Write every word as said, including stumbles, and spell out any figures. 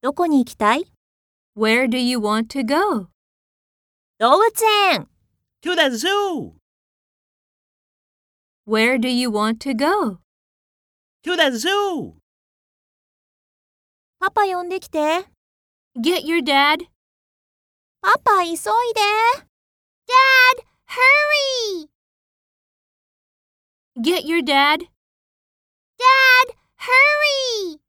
どこに行きたい？ Where do you want to go? 動物園。 To the zoo. Where do you want to go? To the zoo. パパ呼んできて。 Get your dad. パパ急いで。Dad, hurry! Get your dad. Dad, hurry!